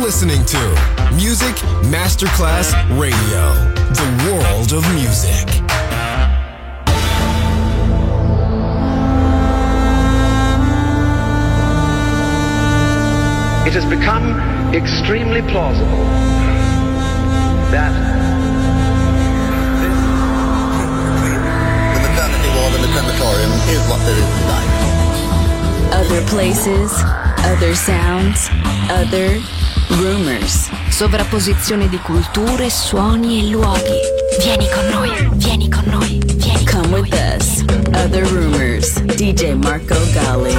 listening to Music Masterclass Radio, the world of music. It has become extremely plausible that the maternity ward and the crematorium is what there is tonight. Other places, other sounds, other rumors. Sovrapposizione di culture, suoni e luoghi. Vieni con noi, vieni con noi, vieni con noi. Come with us. Other Rumors. DJ Marco Gally.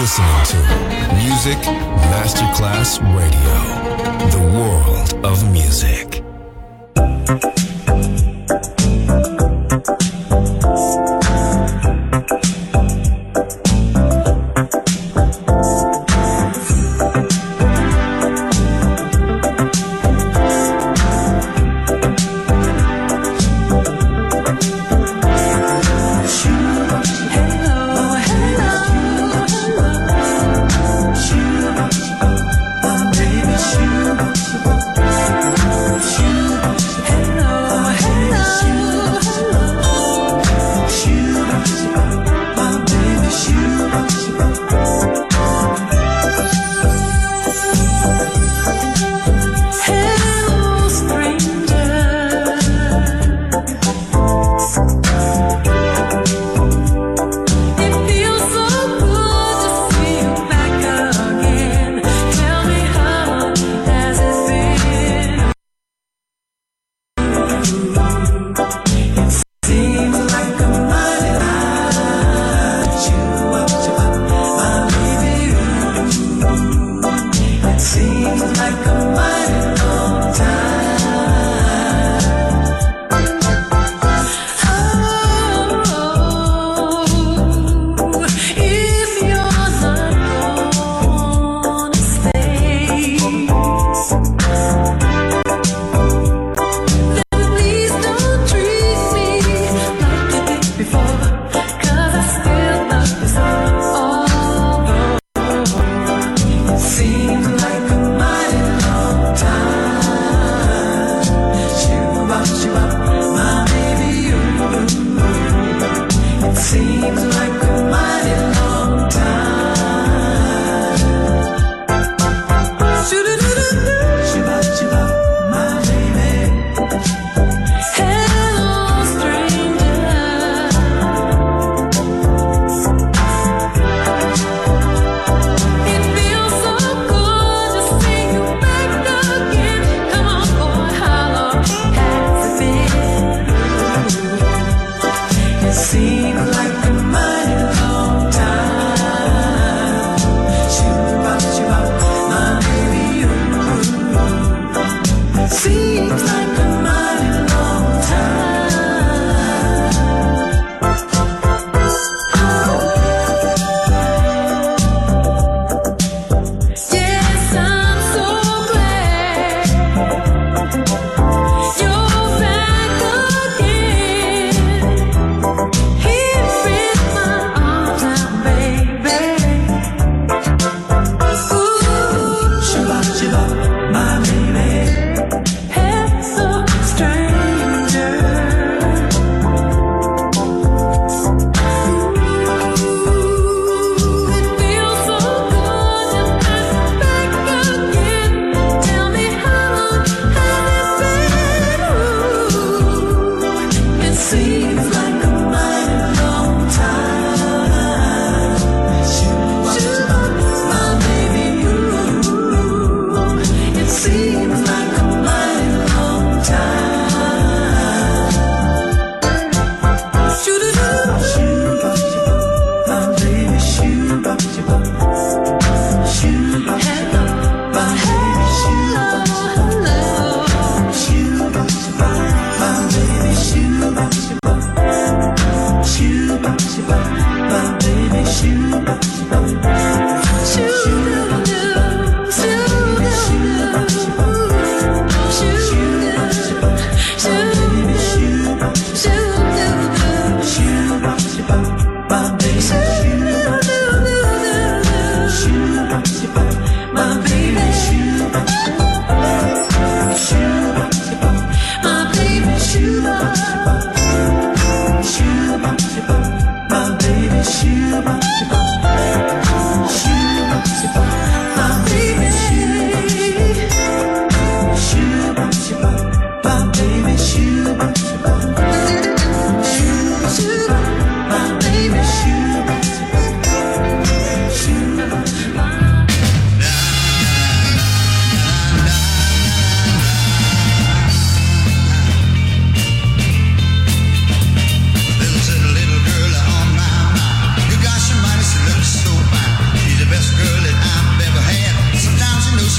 listening to Music Masterclass Radio, the world of music.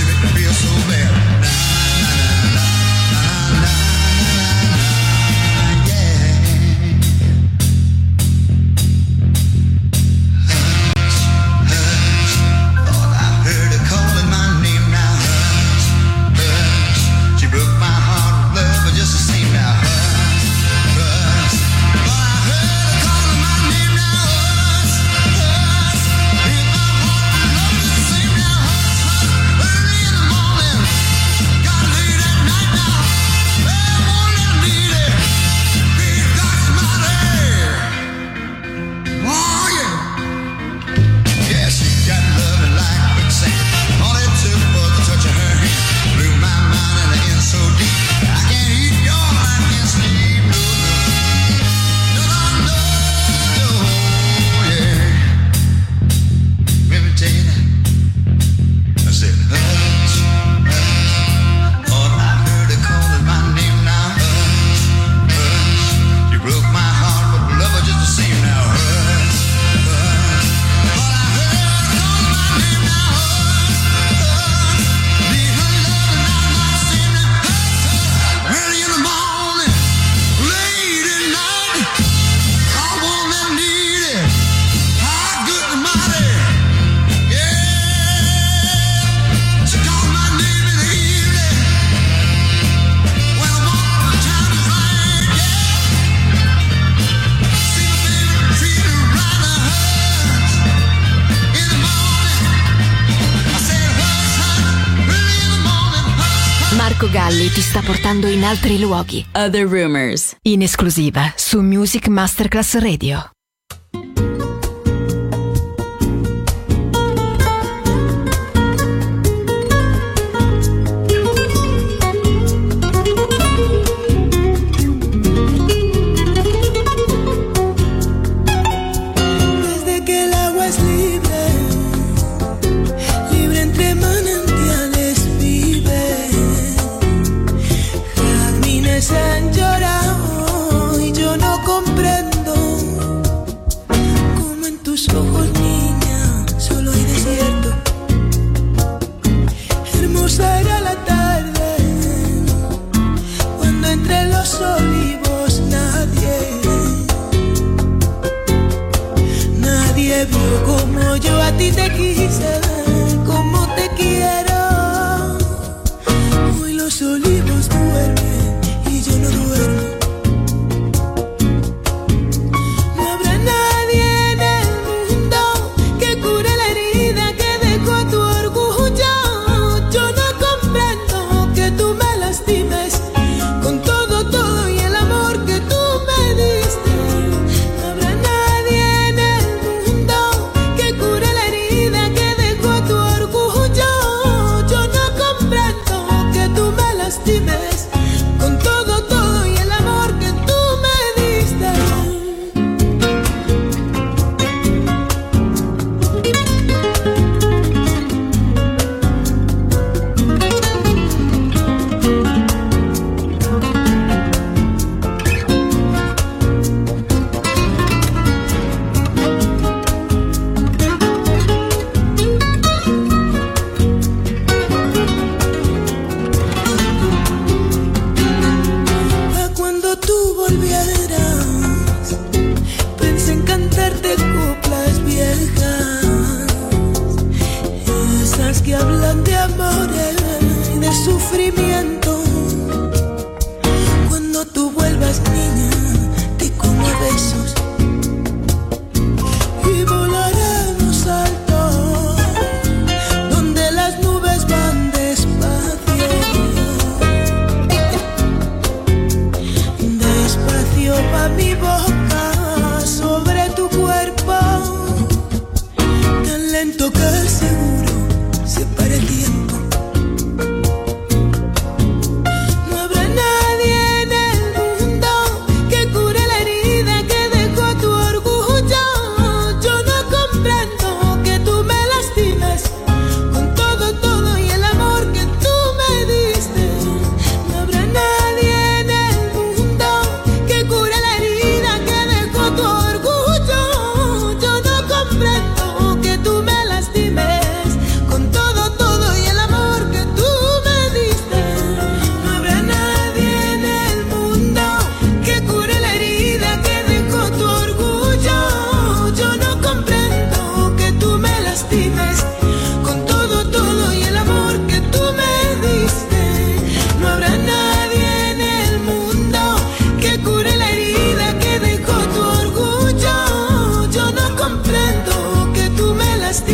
Marco Galli ti sta portando in altri luoghi. Other Rumors, in esclusiva su Music Masterclass Radio. Han llorado y yo no comprendo cómo en tus ojos, niña, solo hay desierto. Hermosa era la tarde cuando entre los olivos nadie vio como yo a ti te quise, como te quiero. Hoy los olivos duermen, yo no duermo. No habrá nadie en el mundo que cure la herida que dejó tu orgullo. Yo no comprendo que tú me lastimes con todo y el amor que tú me diste. No habrá nadie en el mundo que cure la herida que dejó tu orgullo. Yo no comprendo que tú me lastimes con todo y el amor que tú me diste. Cuando tú volvieras, pensé en cantarte coplas viejas, esas que hablan de amores y de sufrimiento. Cuando tú vuelvas, niña, te como besos y volaremos alto, donde las nubes van despacio. Despacio va mi boca sobre tu cuerpo, tan lento que seguro se para el tiempo. No habrá nadie en el mundo que cure la herida que dejó tu orgullo. Yo no comprendo que tú me lastimes con todo y el amor que tú me diste. No habrá nadie en el mundo que cure la herida que dejó tu orgullo. Yo no comprendo que tú me lastimes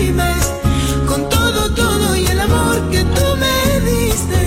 reprimes con todo, todo y el amor que tú me diste.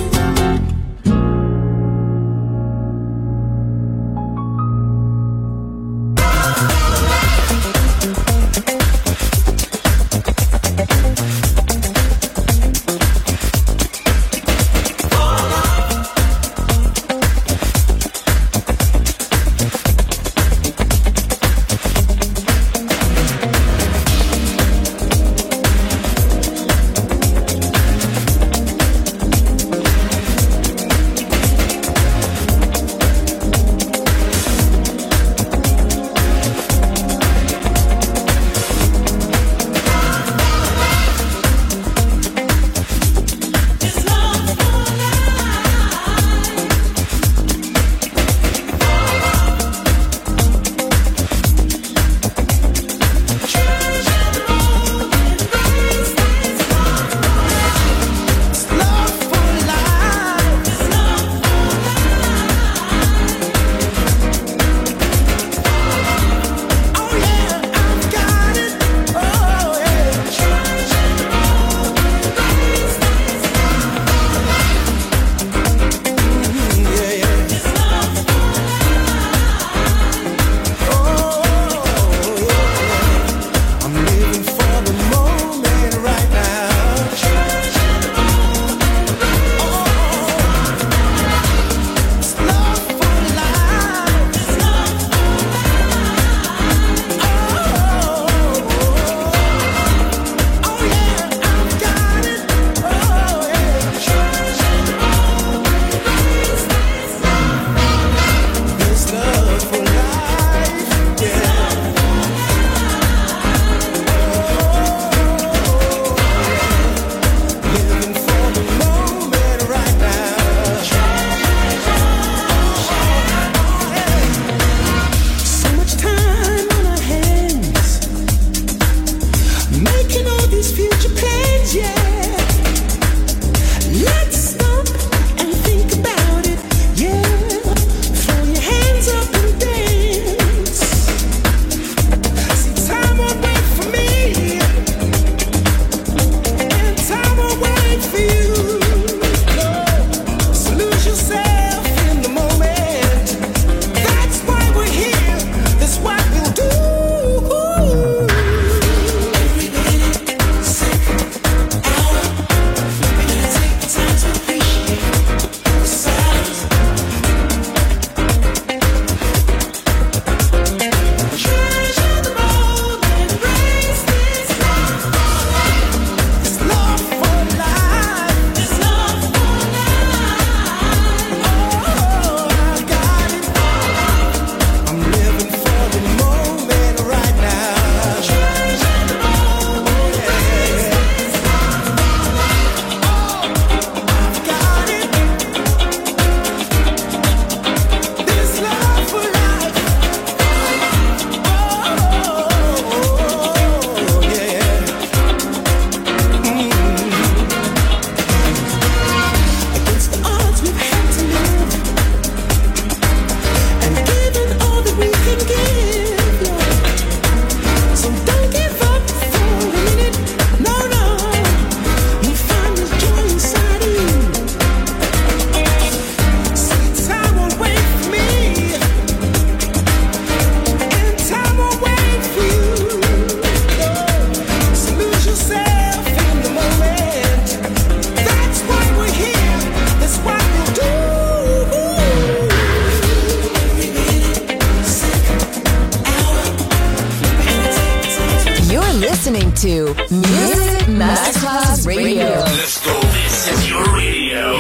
listening to Music Masterclass Radio. Let's go. This is your radio.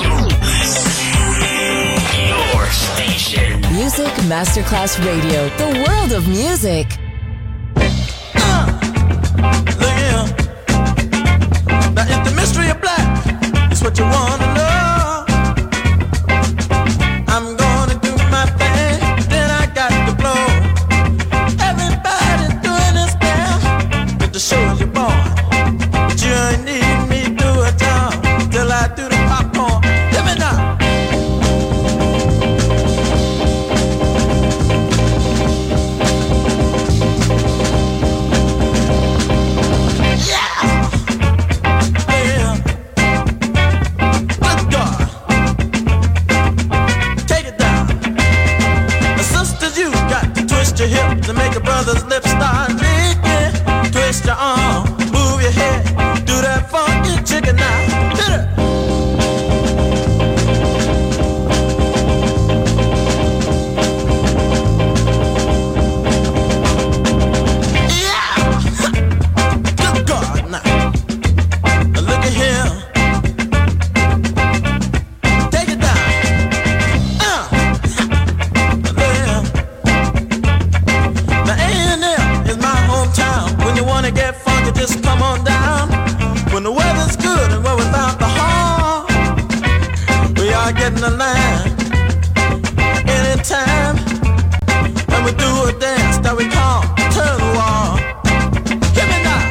Your station. Music Masterclass Radio. The world of music. Now if the mystery of black is what you want to know, I'm gonna do my thing, then I got to blow. Everybody's doing this now, but the show you're born. But you ain't need me do a job till I do the popcorn. Let me know. a line. Anytime when we do a dance that we call turn the wall. Hear me now.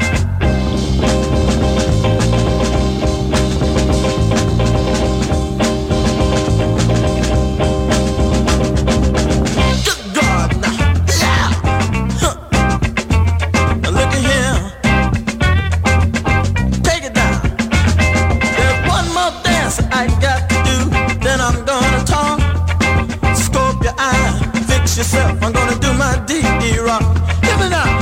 Good God, now, yeah. Huh. Now look at here. Take it down. There's one more dance I got to do, then I'm gonna talk. Scope your eye, fix yourself. I'm gonna do my D.E. rock. Hear me now.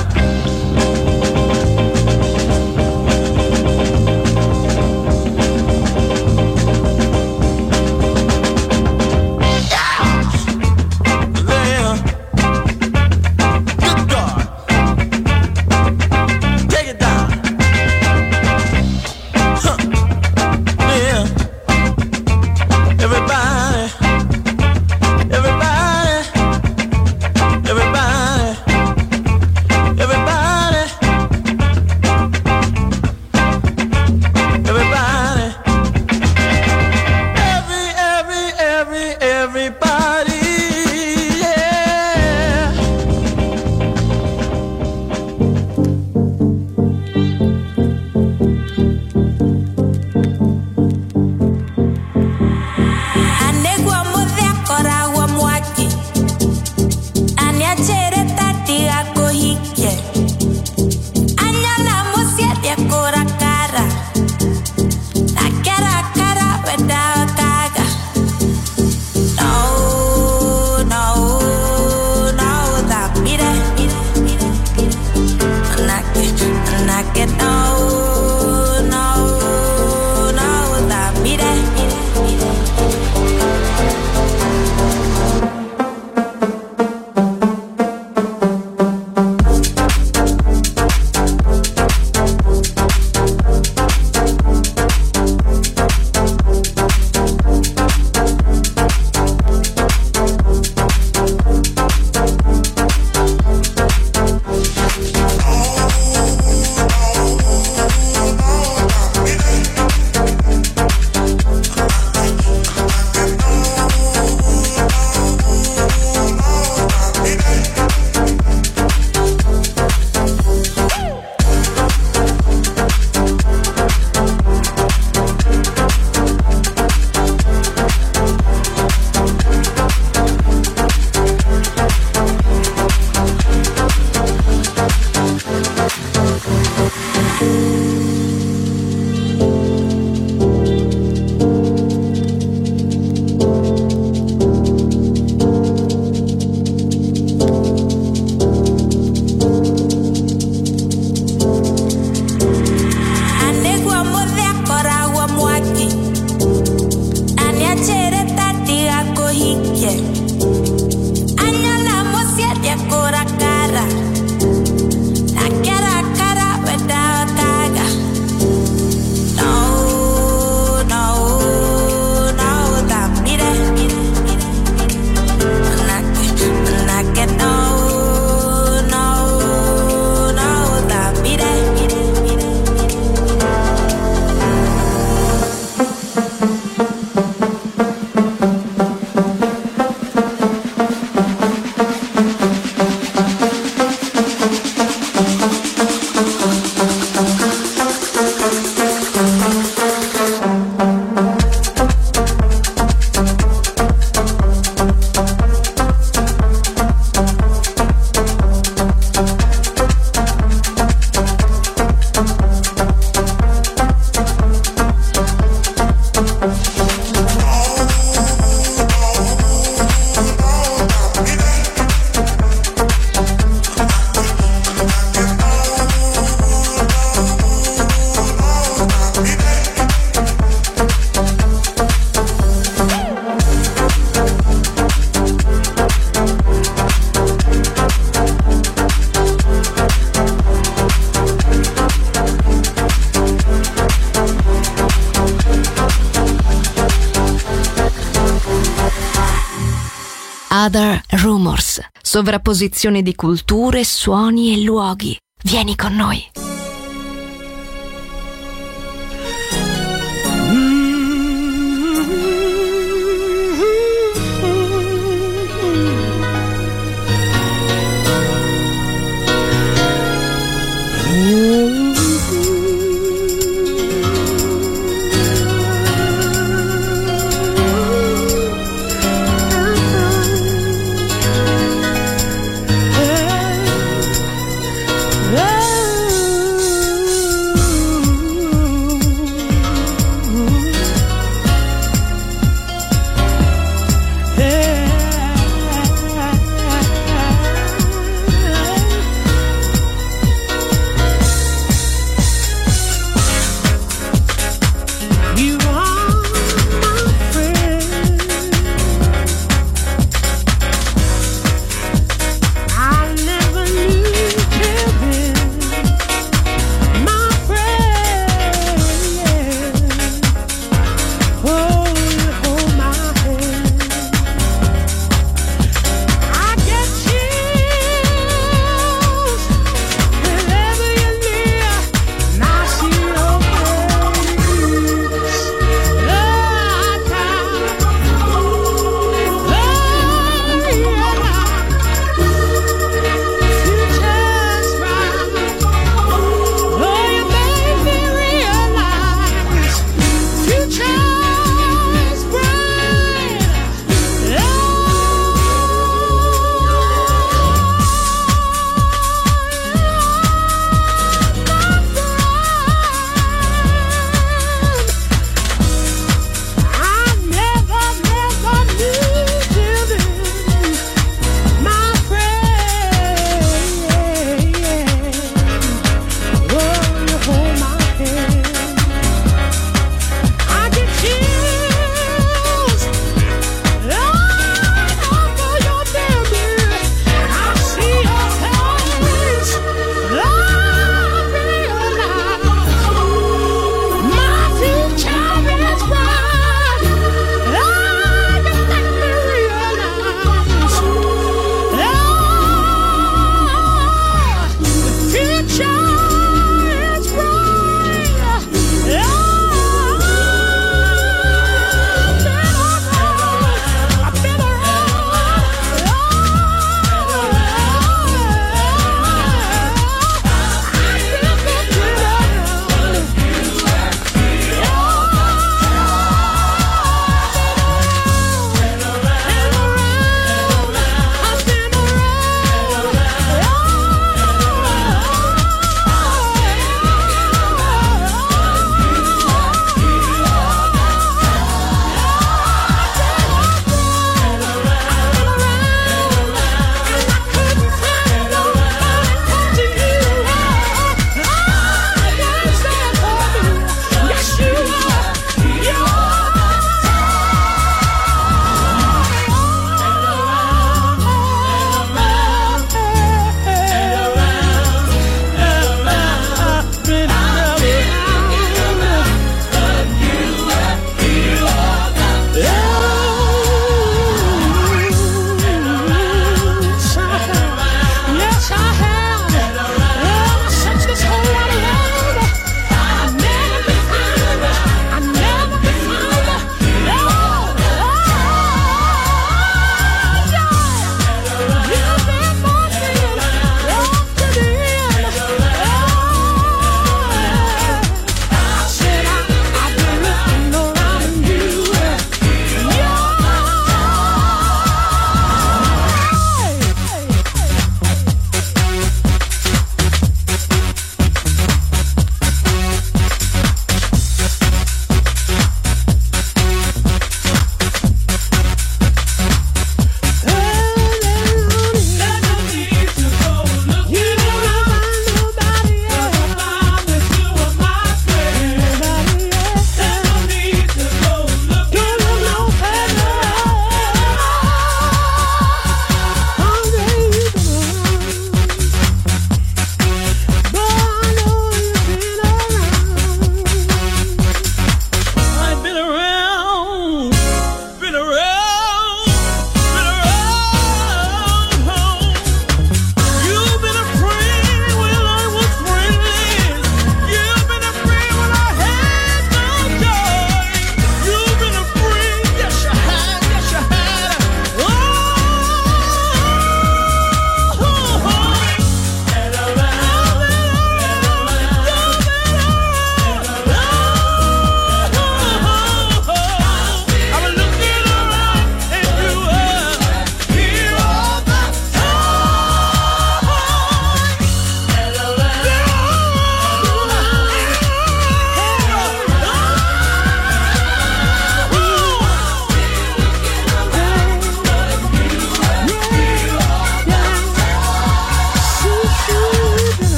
Other Rumors, sovrapposizione di culture, suoni e luoghi. Vieni con noi.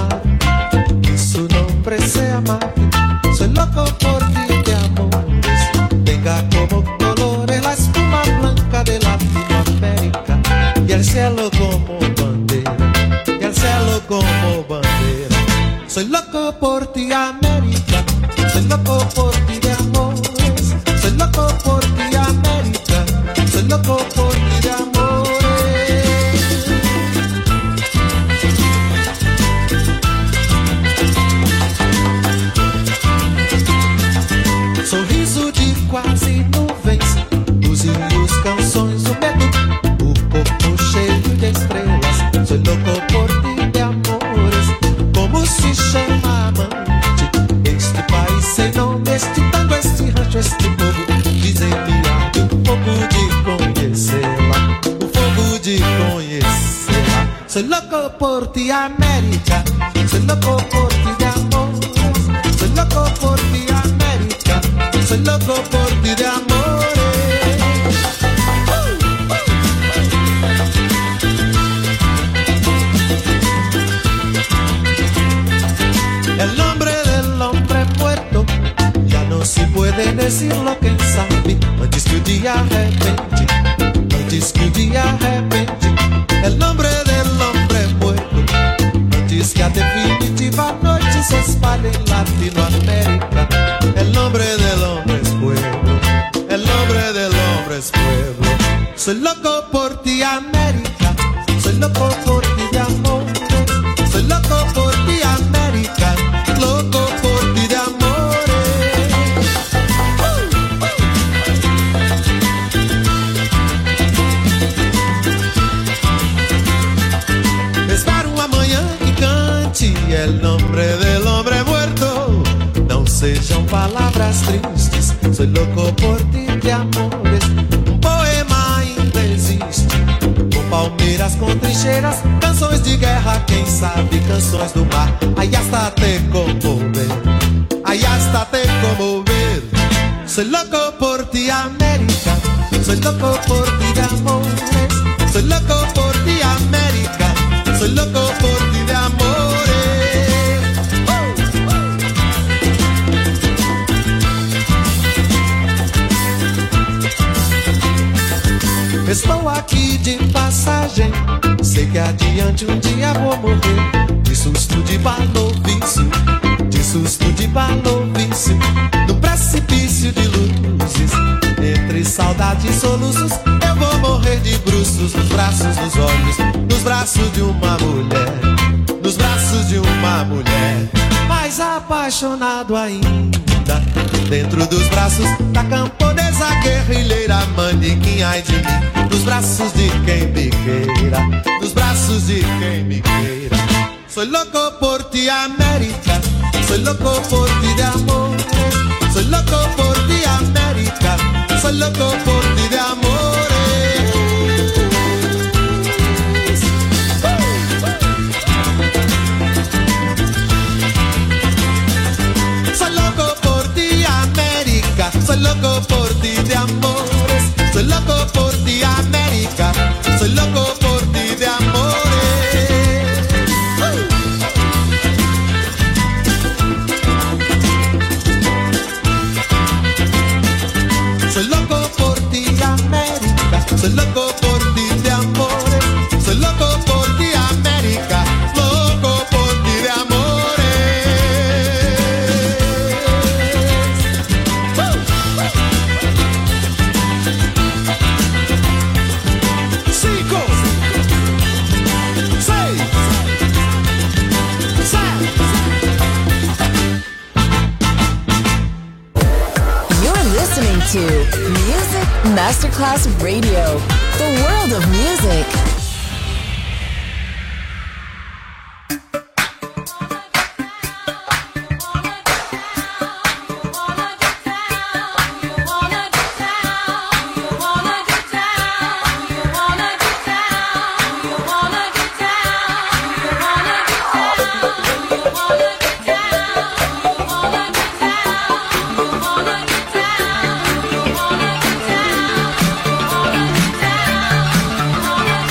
amar. Isso não precisa amar. Soy loco por ti de amores. Tenga como colores la espuma blanca de Latinoamérica y el cielo como bandera, y el cielo como bandera. Soy loco por ti, América. Soy loco por ti de amores. Soy loco por ti, América. Soy loco por ti de amores. Sorriso de quase nuvens, os rios, canções, o medo, o corpo cheio de estrelas. Soy loco por ti de amores. Como se chama amante este país sem nome, este tango, este rancho, este povo? Dizem-me arde o fogo de conhecê-la, o fogo de conhecê-la. Soy loco por ti, América. Soy loco por ti de amores. Soy loco por ti, América. Soy loco por ti de amores. El nombre del hombre muerto ya no se puede decir lo que sabe. Antes que o dia arrepende, antes que o dia arrepende. El nombre del hombre muerto, antes que a definitiva noche se espalhe en Latinoamérica. El nombre del hombre es pueblo, el nombre del hombre es pueblo. Soy loco por ti, América. Soy loco por ti de amores. Soy loco por ti, América. Loco por ti de amores. Espero um amanhã que cante el nombre del hombre muerto. Não sejam palavras tristes. Soy loco por ti de amores. Um poema ainda existe, com palmeiras, com trincheiras, canções de guerra, quem sabe canções do mar. Aí hasta te conmover, aí hasta te conmover. Soy loco por ti, América. Soy loco por ti de amores. Soy loco por ti, América. Soy loco por ti de amores. Estou aqui de passagem, sei que adiante um dia vou morrer. De susto de balovício, de susto de balovício. No precipício de luzes, entre saudade e soluços, eu vou morrer de bruços nos braços, nos olhos, nos braços de uma mulher, nos braços de uma mulher. Mais apaixonado ainda, dentro dos braços da camponesa guerrilheira, manequim, ai de mim, nos braços de quem me queira, nos braços de quem me queira. Soy loco por ti, América. Soy loco por ti de amores. Soy loco por ti, América. Soy loco por ti de amores. Soy loco por ti, América. Soy loco por ti de amores. Soy loco por ti, América. Soy loco por ti de amores. Soy loco por ti, América. Soy loco por ti de amores. Soy loco por ti, América. Loco por ti de amores. Cinco, seis, sete. You're listening to Music Masterclass Radio, the world of music. Down.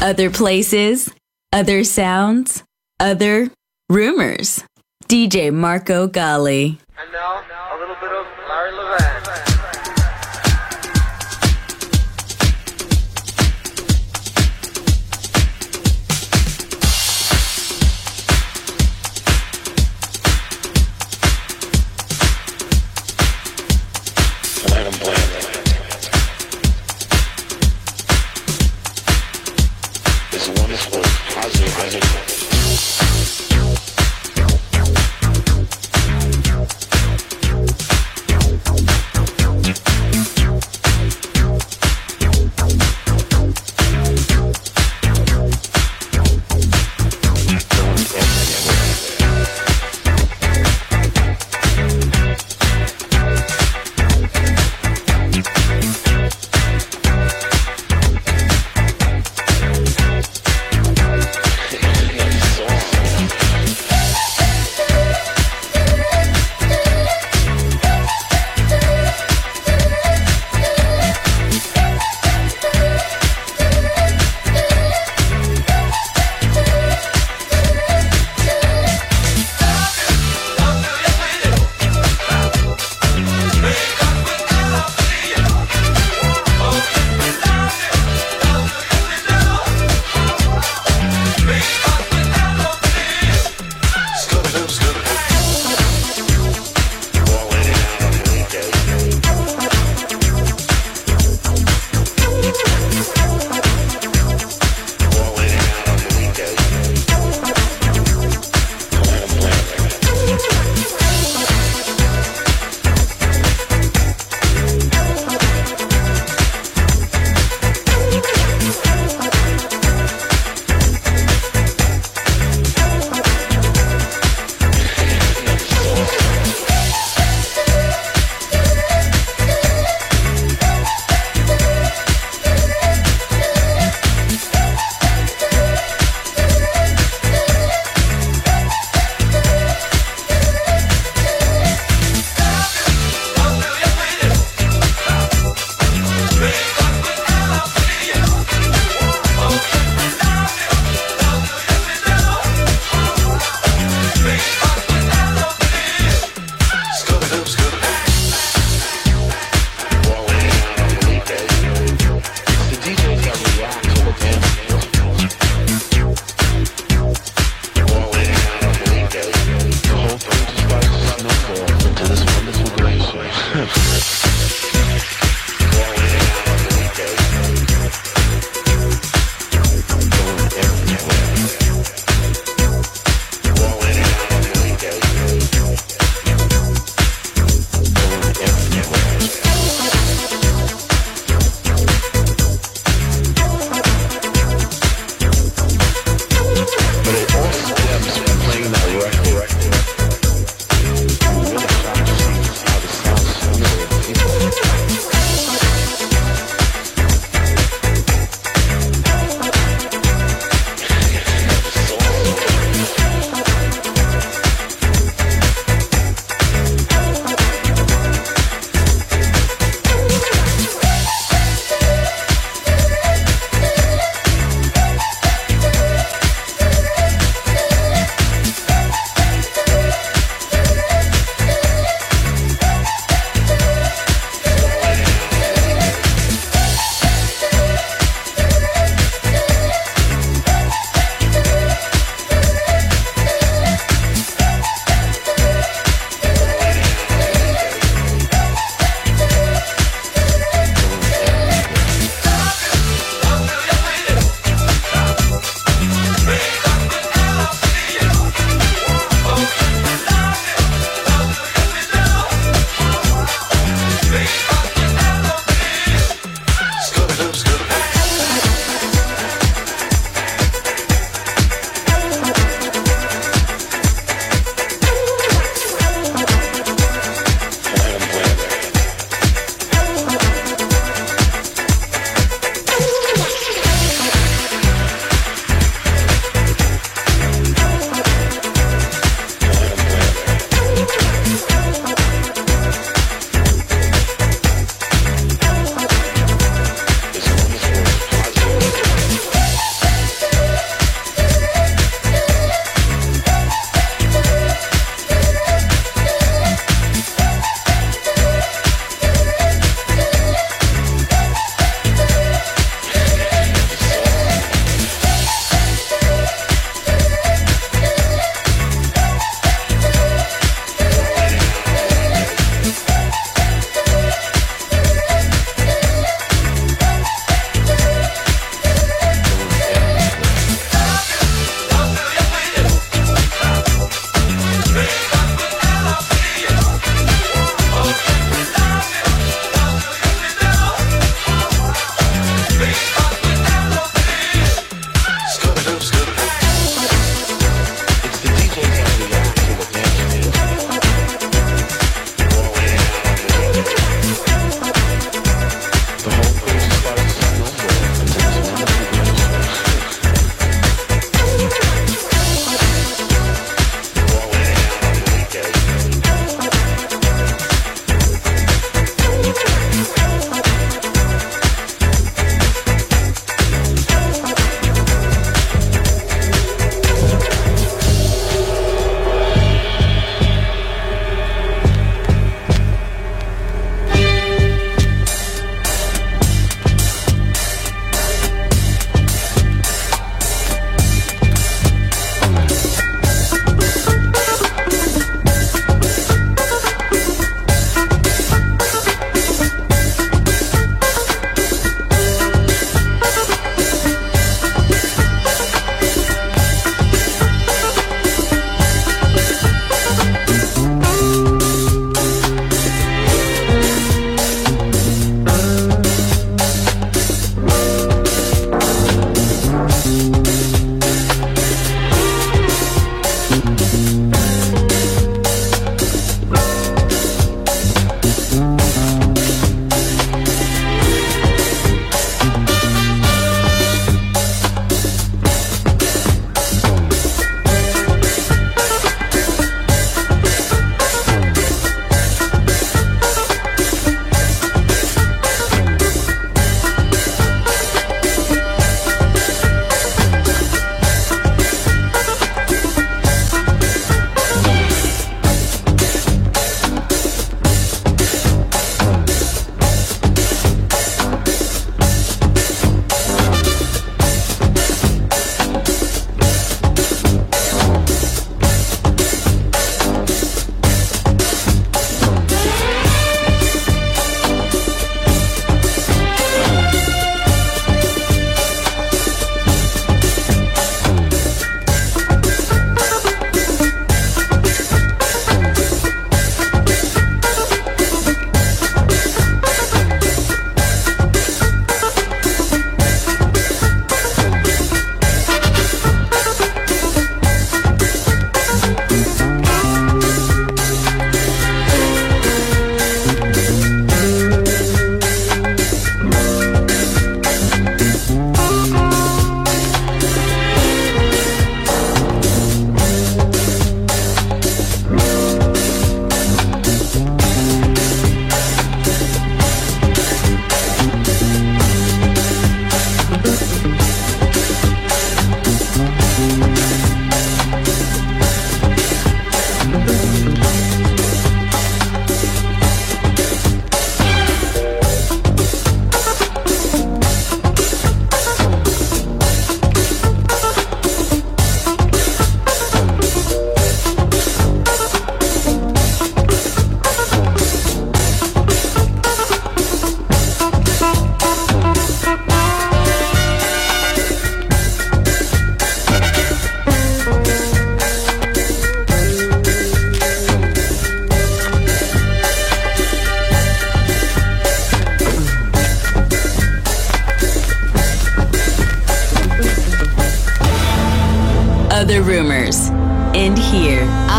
Other places, other sounds, other rumors. DJ Marco Gally. And now, a little bit of Larry Levan.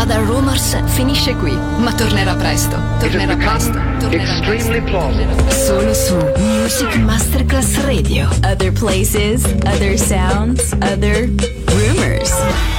Other Rumors finisce qui, ma tornerà presto. Solo su Music Masterclass Radio. Other places, other sounds, other rumors.